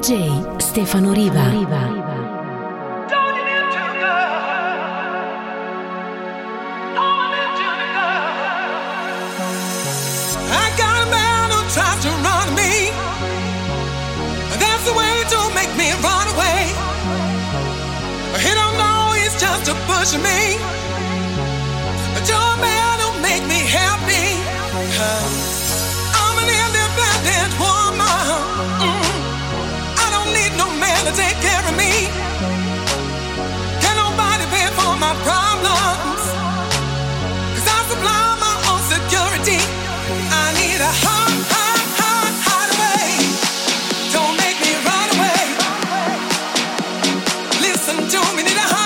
DJ Stefano Riva. Push me, but your man don't make me happy. I'm an independent woman. I don't need no man to take care of me. Can't nobody pay for my problems, 'cause I supply my own security. I need a hideaway. Don't make me run away. Listen to me, need a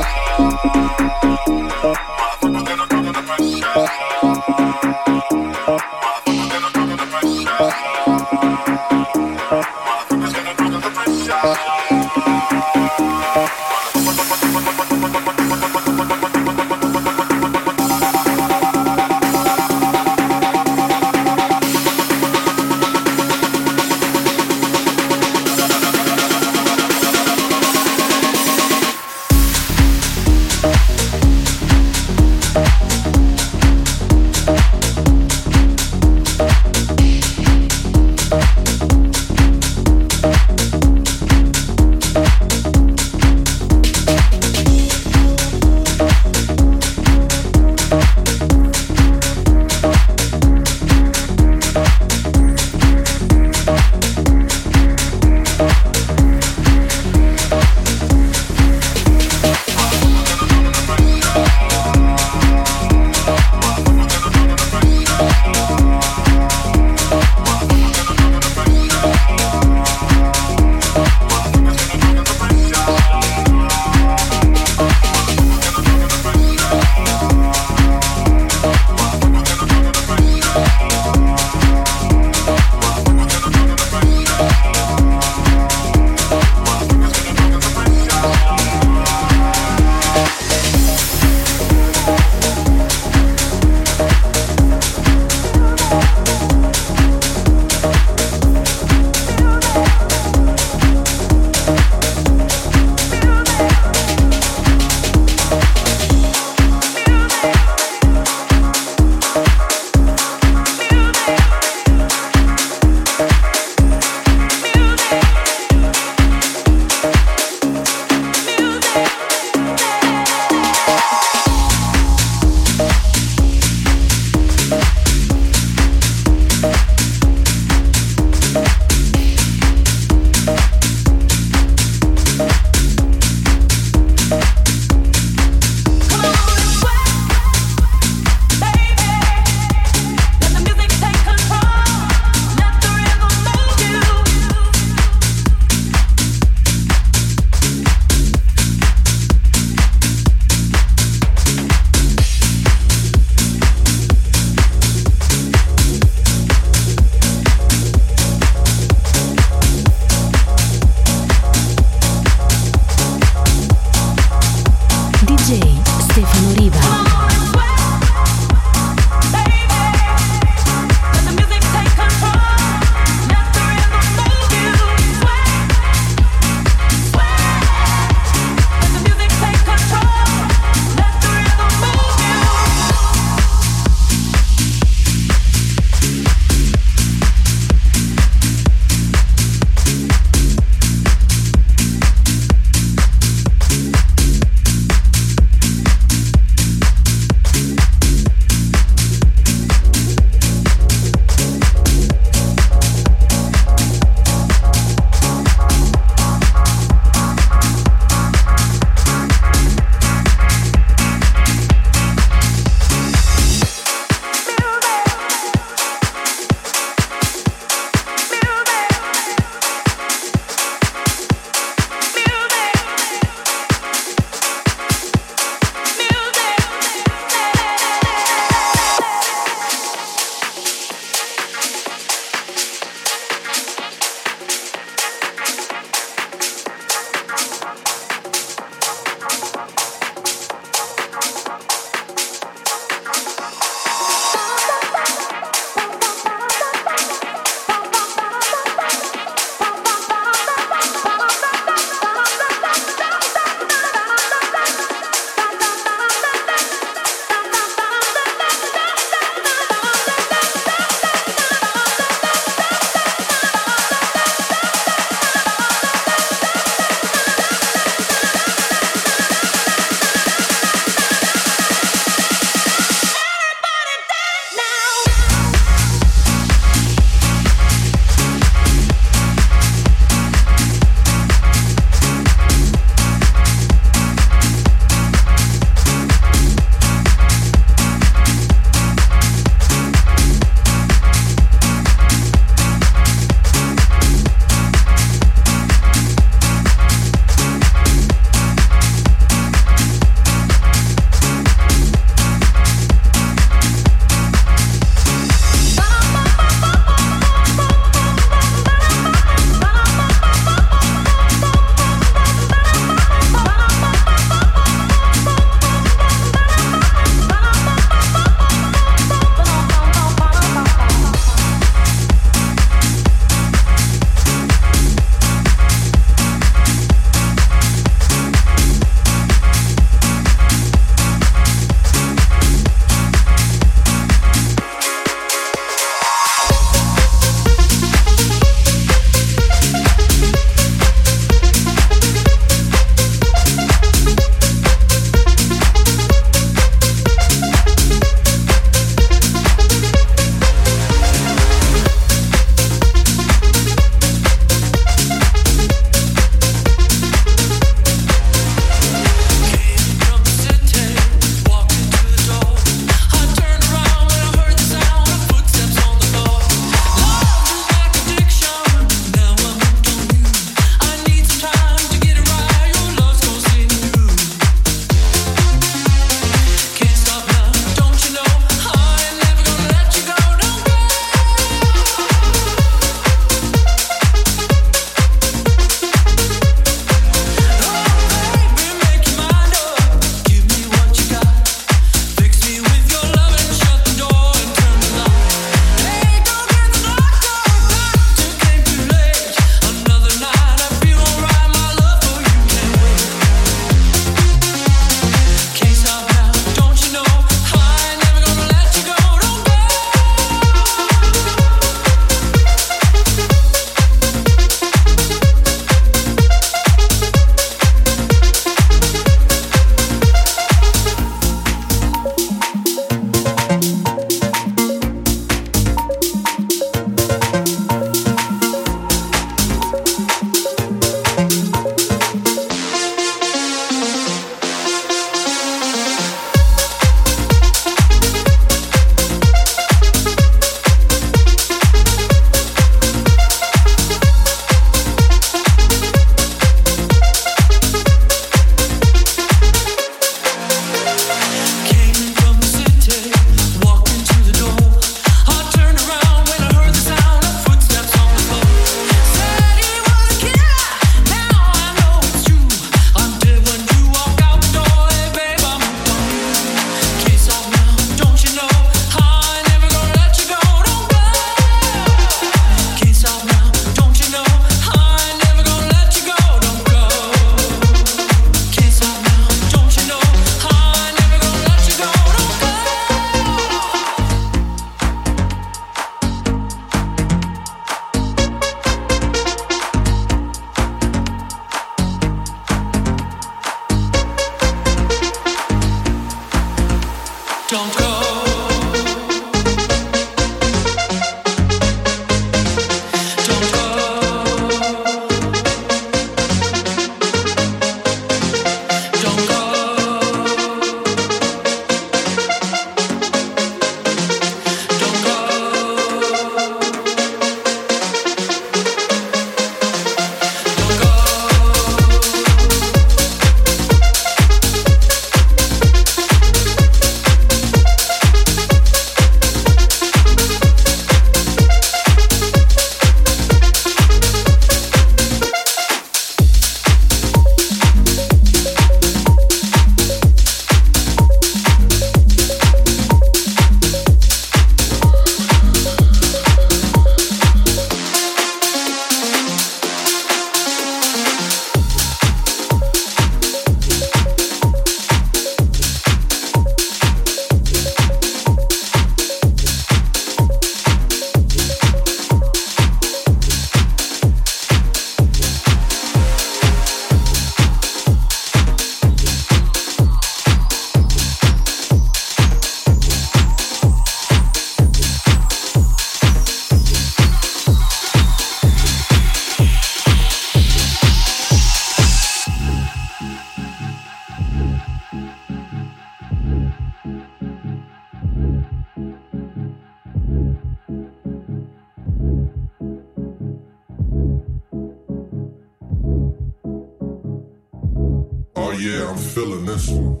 feeling this one.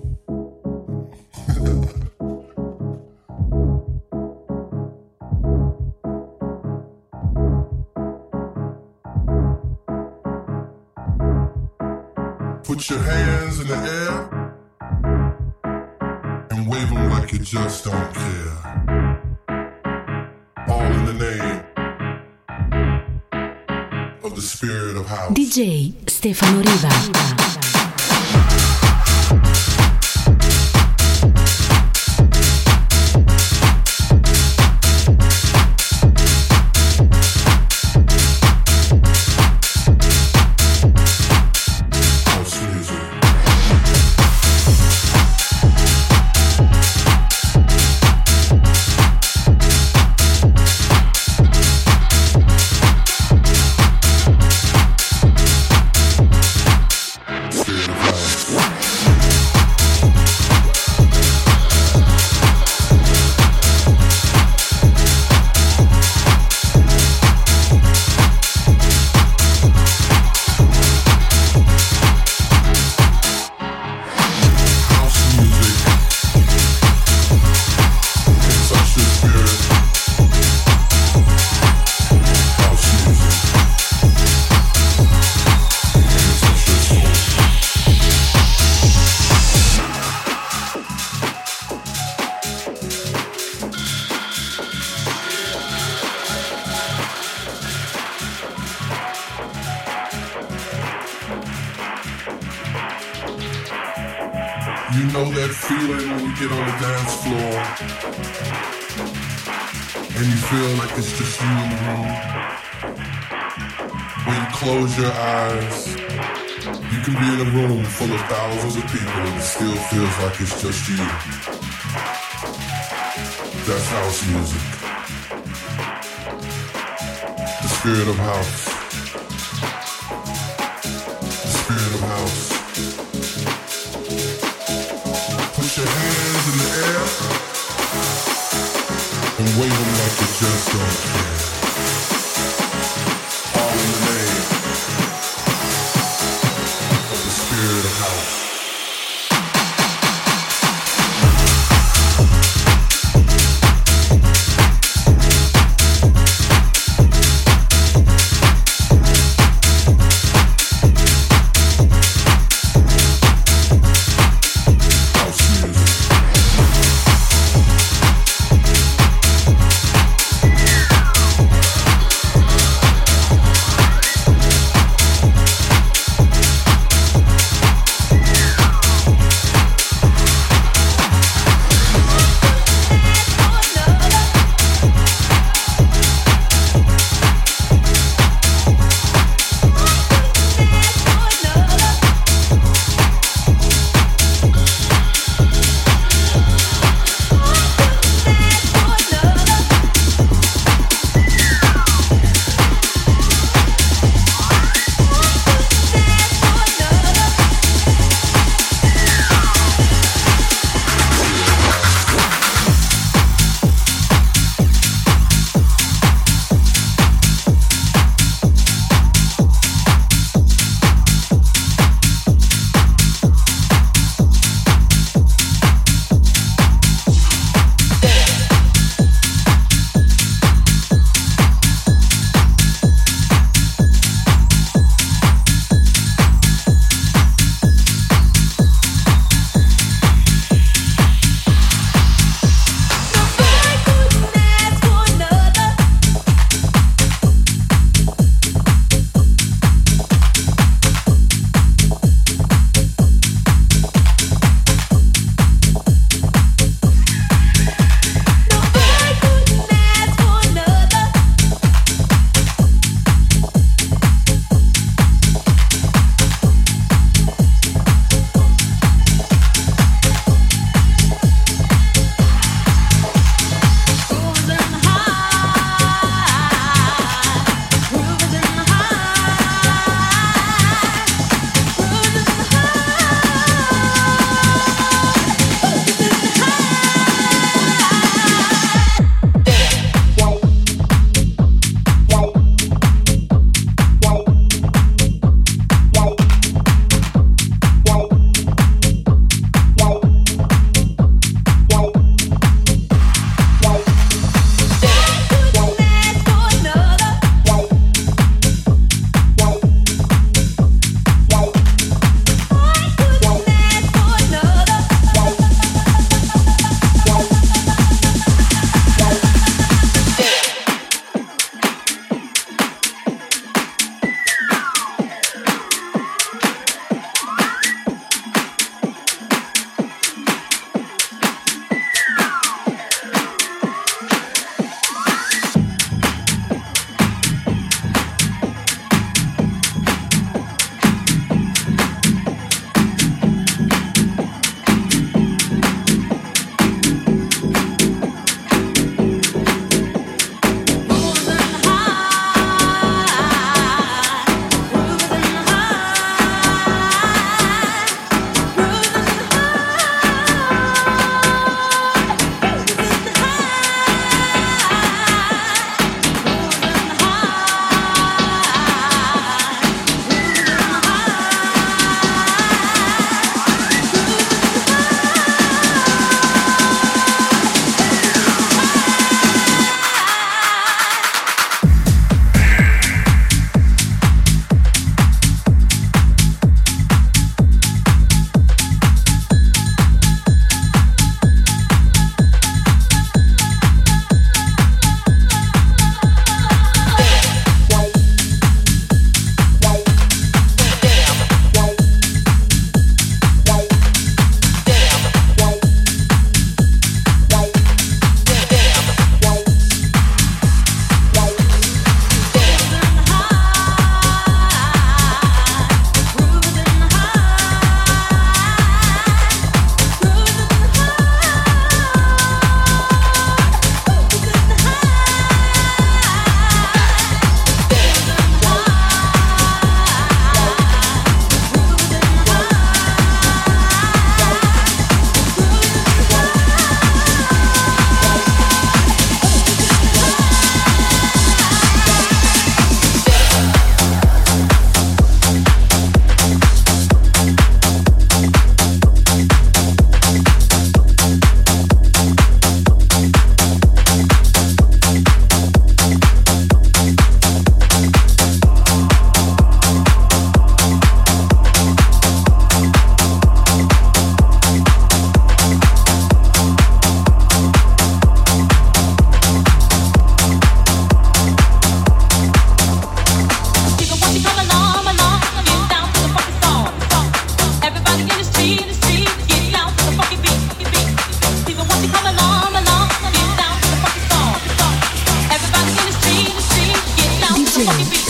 Put your hands in the air and wave them like you just don't care. All in the name of the spirit of house. DJ Stefano Riva. You know that feeling when you get on the dance floor and you feel like it's just you in the room. When you close your eyes, you can be in a room full of thousands of people and it still feels like it's just you. That's house music. The spirit of house. The spirit of house. Put your hands in the air and wave them like you just don't care. All in the name of the spirit of house.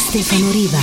Stefano Riva.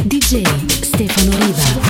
DJ Stefano Riva.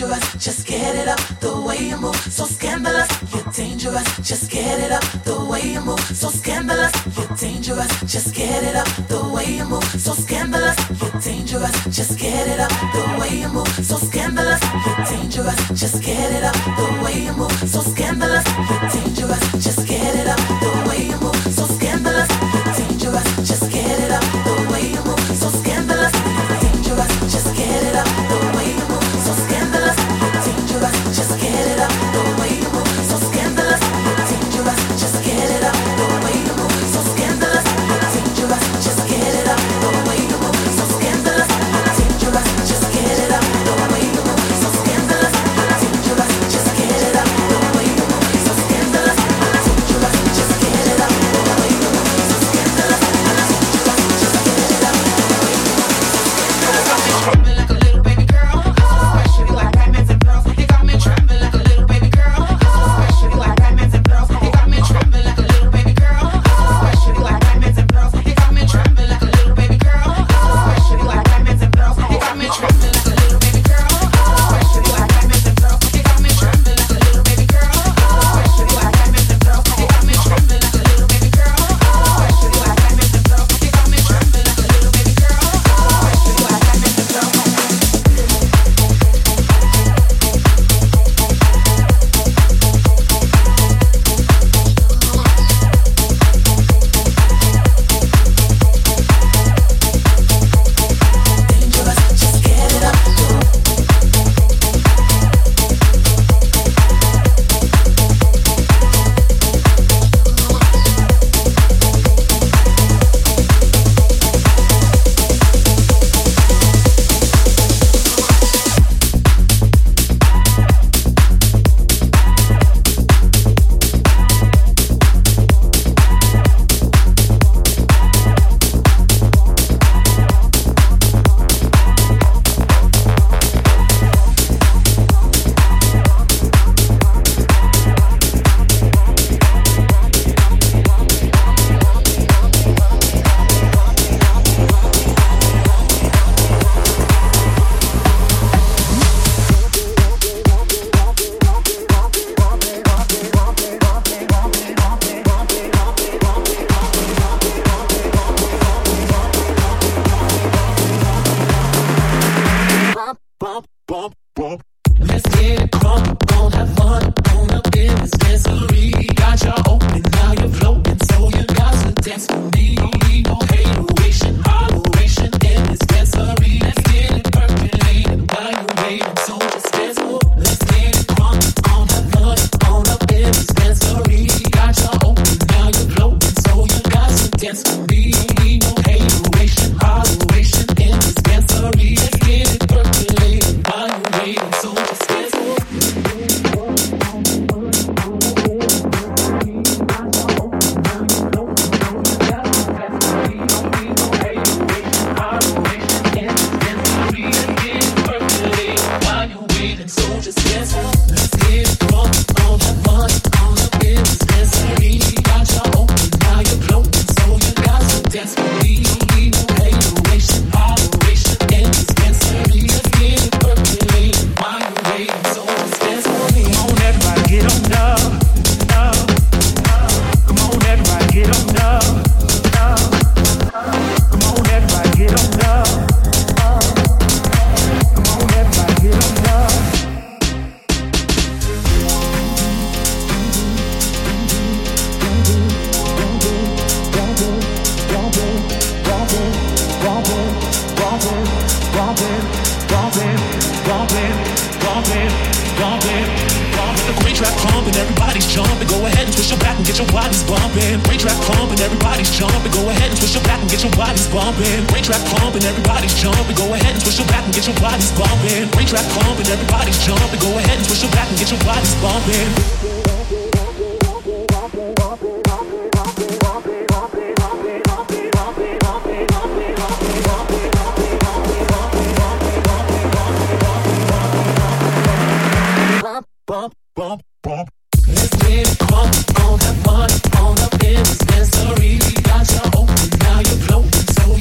dangerous, just get it up. The way you move, so scandalous. You're dangerous, just get it up. The way you move, so scandalous. You're dangerous, just get it up. The way you move, so scandalous. You're dangerous, just get it up. The way you move, so scandalous. You're dangerous, just get it up. The way you move, so scandalous. You're dangerous, just get it up. The way you move, so scandalous. You're dangerous, just get it up. The way you move, so scandalous. You're dangerous, just get it up. The way you move, so scandalous. You're dangerous, just get it up. The way you move, so scandalous. You're dangerous, just get it up. The way you move, so scandalous. You're dangerous, just get it up. The way you move, so scandalous. You're dangerous, just get it up. The way you move, so scandalous. You're dangerous, just get it up. The way you move, so scandalous. You're dangerous, just get it up. The way you move, so scandalous. You're dangerous, just get it up. The way you move, so scandalous. Like a little baby girl, especially like diamonds and pearls. You got me trembling like a little baby girl, especially like diamonds and pearls. You got me trembling like a little baby girl, especially like diamonds and pearls. You got me trembling like a little baby girl, especially like diamonds and pearls. You got me trembling like a little baby girl, especially like diamonds and pearls. You got me trembling like a little baby girl, especially like diamonds and pearls. You got me trembling like a little baby girl, especially like diamonds and pearls. You got me trembling like a little baby girl, especially like diamonds and pearls. Let's get it crunk, won't have fun on up in this dancery. Got you open, now you're floating, so you got to dance with me. No hateration, holleration in this dancery. Let's get it percolating while you're waiting, so just dance more. Let's get it crunk, won't have fun on up in this dancery. Got you open, now you're floating, so you got to dance with me. No hateration, holleration in this dancery. Let's get it percolating while you're waiting, so just dance more.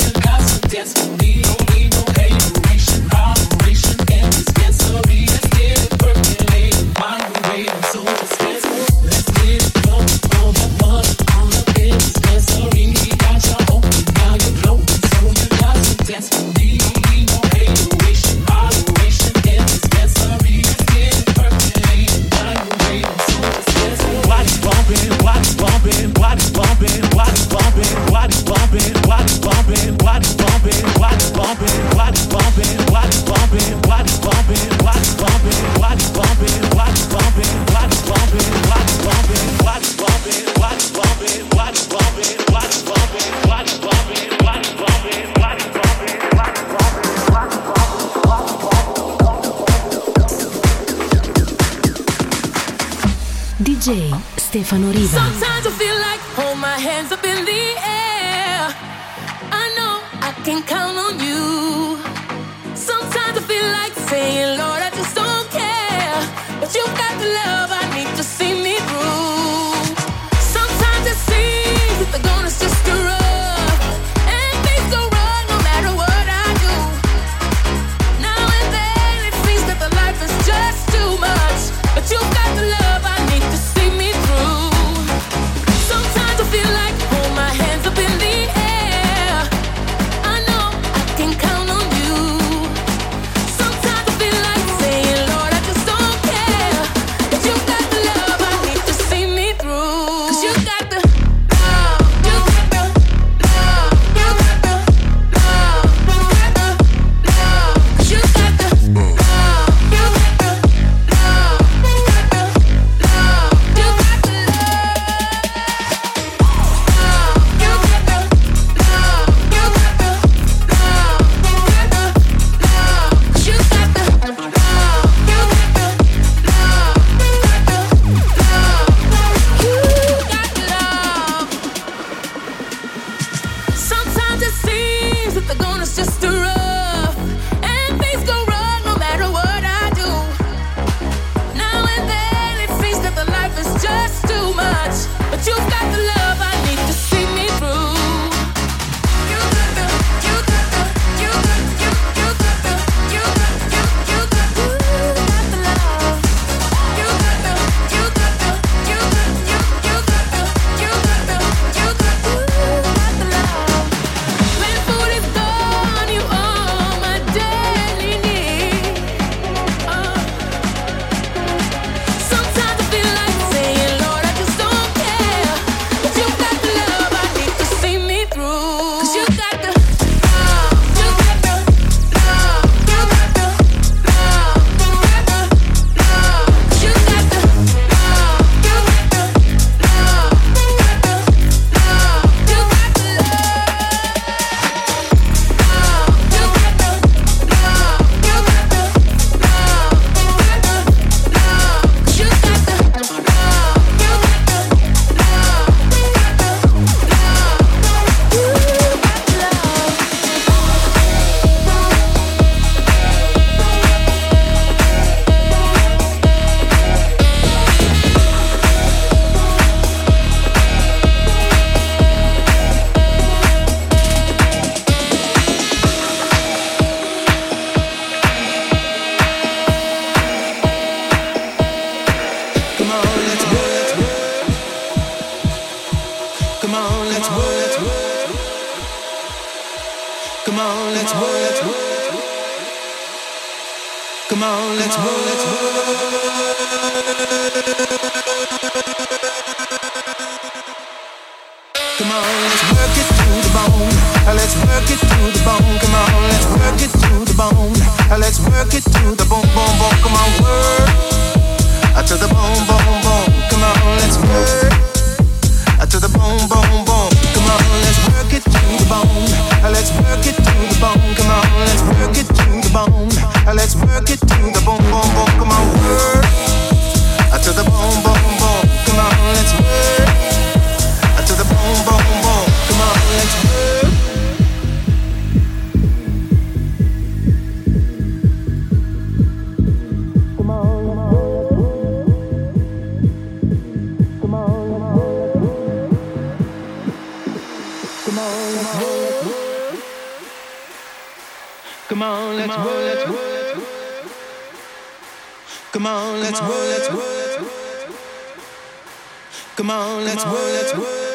Dance with me, no hateration, holleration, and this dancery. Let's get DJ Stefano Riva. Sometimes I feel like hold my hands up in the air. I know I can count on you. Sometimes I feel like saying, Lord, I just don't care. But you've got the love I need to see me through. Sometimes it seems that the going is just too rough, and things go wrong no matter what I do. Now and then it seems that the life is just too much, but you've got the love I need to see me through. Sometimes I feel like hold my hands up in the air. I know I can count on you. Sometimes I feel like saying, Lord, I just don't care. But you got the love I need to see me through. 'Cause you got the love, you got the love, you got the love, you got the love. 'Cause you got the love, you got the love, you got the love, you got the sometimes it seems that the going is just too rough, and things go wrong no matter what I do. Now and then it seems that the life is just too much, but you've got the love I need to see me through. You got the, you got the, you got, you got the, you got, you got the love. You got the, you got the, you got, you got the, you got the, you got the love. When food is gone, you are my daily need. Sometimes I feel like saying, Lord, I just don't care. But you got the love I need to see me through. 'Cause you got the love, you got the love, you got the love, you got the love. 'Cause you got the love, you got the love, you got the love, you got the Come on, let's work it to the bone. Let's work it to the bone. Come on, let's work it to the bone. Let's work it to the bone, bone, bone. Come on, work to the bone, bone, bone. Come on, let's work to the bone, bone, bone. Come on, let's work it to the bone. Let's work it to the bone. Come on, let's work it to the bone. Let's work it to the bone, bone, bone. Come on, work to the bone, bone, bone. Come on, let's work to the bone, bone, bone. Come on, let's work. Come on, let's work. Come on, let's work. Come on, let's work. Come on, let's work. Come on, let's work. Come on, let's work.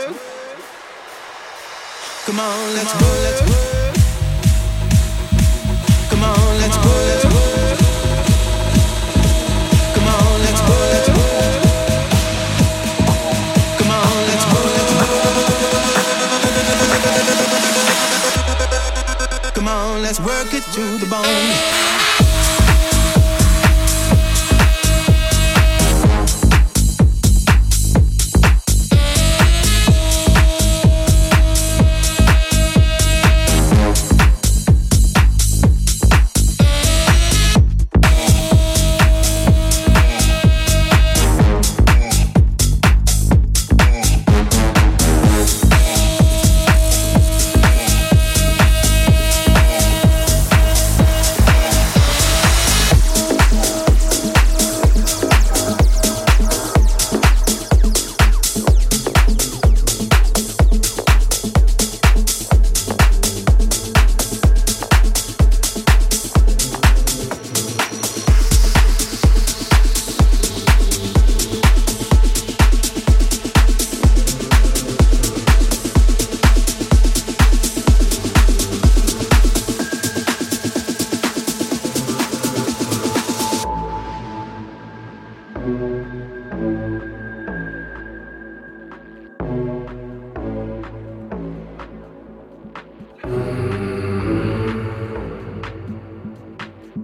Come on, let's work. Come on, let's work. Come on, let's work. Come on, let's work. Come on, let's work it to the bone.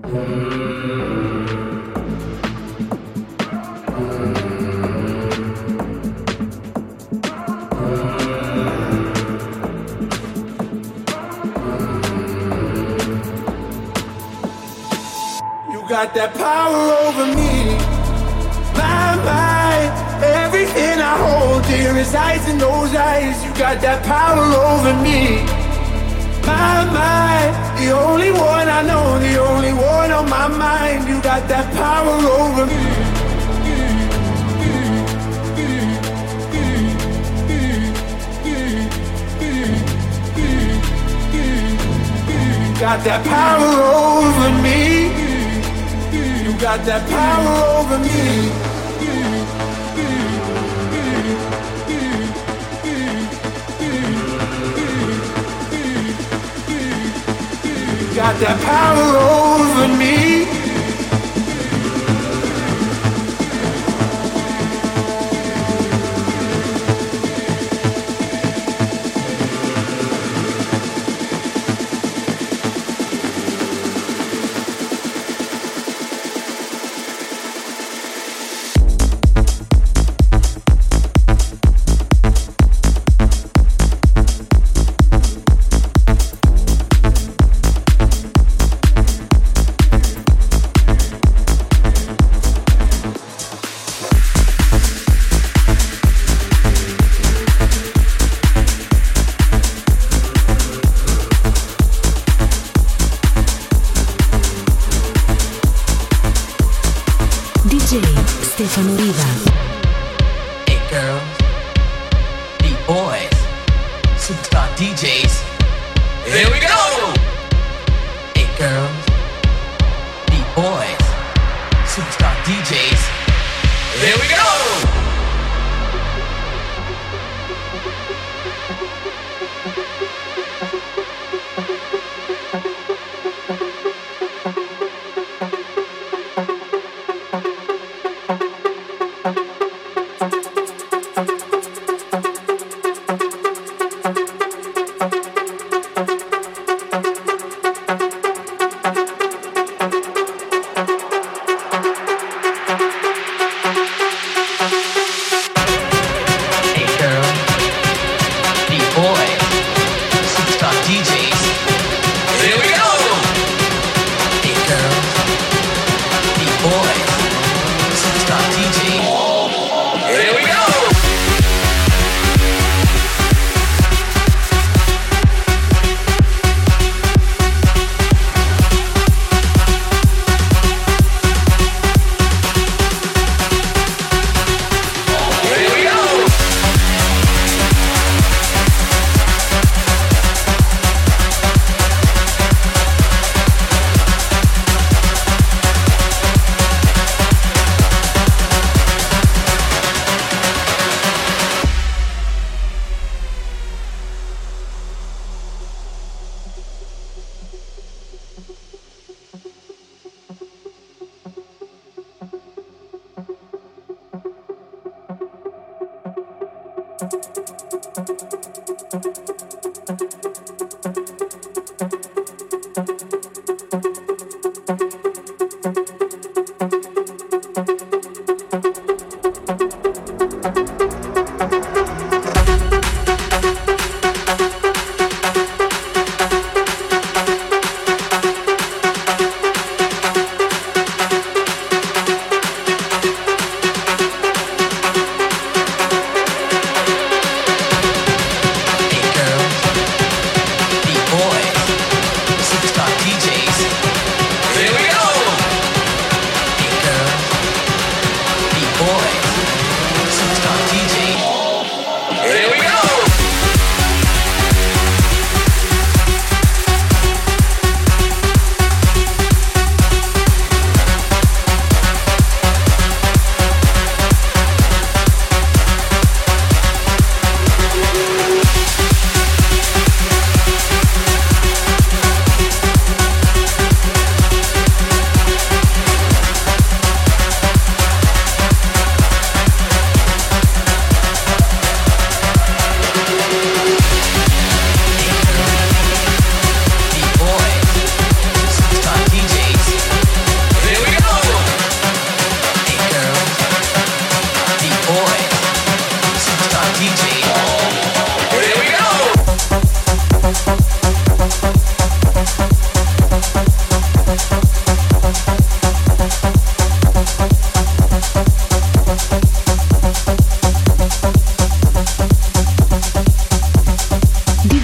Got that power over me, my mind. Everything I hold dear resides in those eyes. You got that power over me, my mind. The only one I know, the only one on my mind. You got that power over me. You got that power over me. You got that power over me. You got that power over me. Stefano Riva. Hey girls, beat boys, superstar DJs. Here we go! Hey girls, beat boys, superstar DJs. Here we go!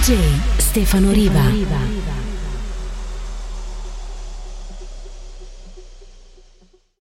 DJ Stefano Riva.